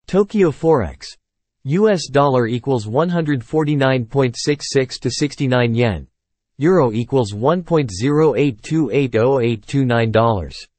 Tokyo Forex. US dollar equals 149.66 to 69 yen. Euro equals $1.0828089.